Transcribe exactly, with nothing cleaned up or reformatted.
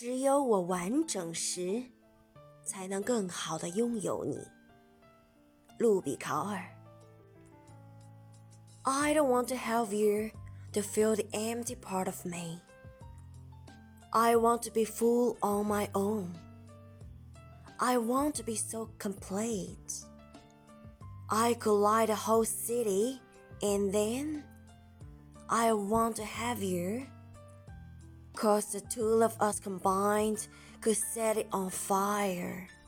只有我完整时，才能更好地拥有你。路比考尔。I don't want to have you to fill the empty part of me. I want to be full on my own. I want to be so complete. I could light a whole city, and then I want to have you, 'cause the two of us combined could set it on fire.